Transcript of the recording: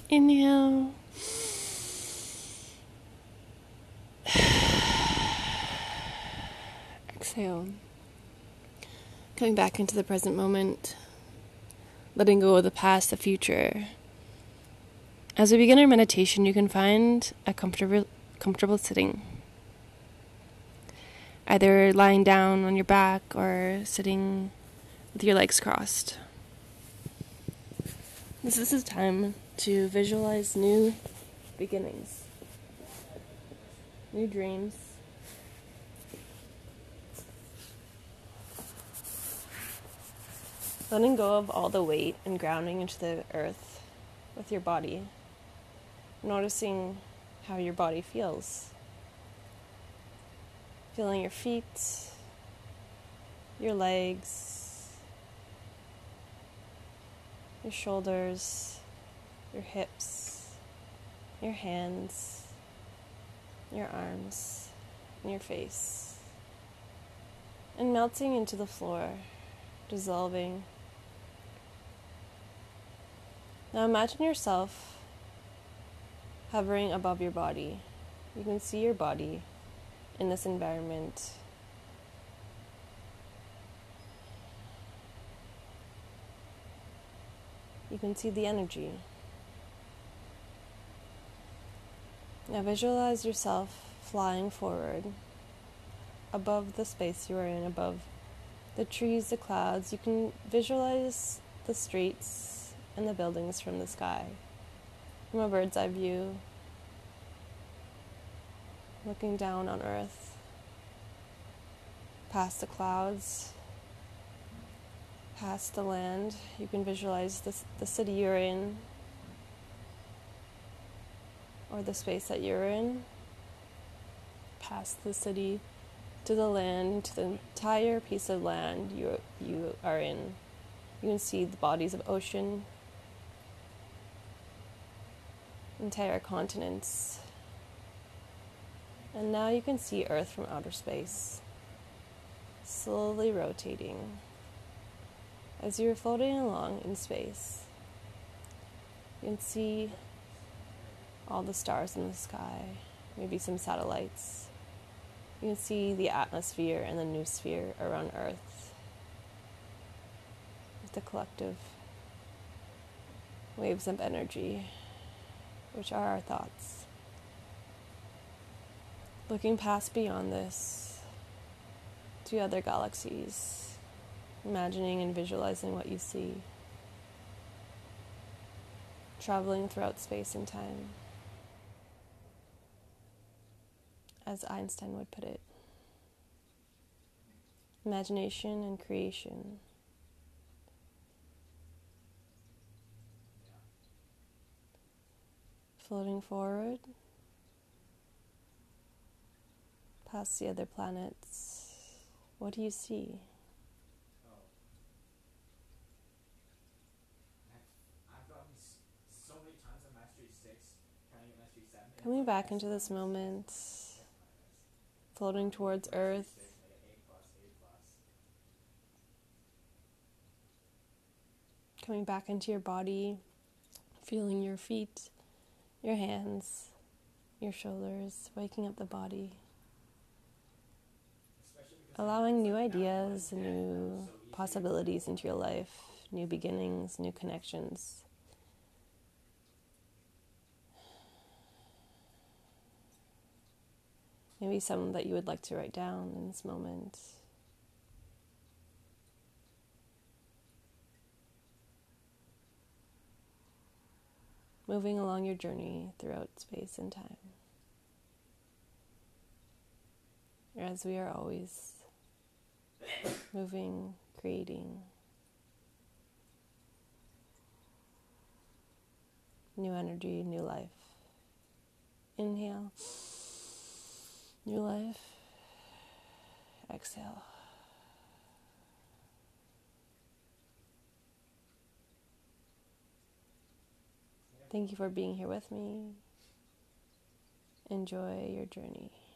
Inhale. Exhale. Coming back into the present moment, letting go of the past, the future. As we begin our meditation, you can find a comfortable sitting. Either lying down on your back or sitting with your legs crossed. This is a time to visualize new beginnings, new dreams, letting go of all the weight and grounding into the earth with your body, noticing how your body feels, feeling your feet, your legs, your shoulders, your hips, your hands, your arms, and your face, and melting into the floor, dissolving. Now imagine yourself hovering above your body. You can see your body in this environment. You can see the energy. Now visualize yourself flying forward above the space you are in, above the trees, the clouds. You can visualize the streets and the buildings from the sky, from a bird's eye view, looking down on earth, past the clouds, past the land. You can visualize the city you're in, or the space that you're in, past the city, to the land, to the entire piece of land you are in. You can see the bodies of ocean, entire continents. And now you can see Earth from outer space, slowly rotating. As you're floating along in space, you can see all the stars in the sky, maybe some satellites. You can see the atmosphere and the noosphere around Earth, with the collective waves of energy, which are our thoughts. Looking past beyond this to other galaxies, imagining and visualizing what you see, traveling throughout space and time, as Einstein would put it. Imagination and creation. Floating forward, past the other planets. What do you see? Coming back into this moment, floating towards Earth, coming back into your body, feeling your feet, your hands, your shoulders, waking up the body, allowing new ideas, new possibilities into your life, new beginnings, new connections. Maybe some that you would like to write down in this moment. Moving along your journey throughout space and time, as we are always moving, creating new energy, new life. Inhale, new life. Exhale. Thank you for being here with me. Enjoy your journey.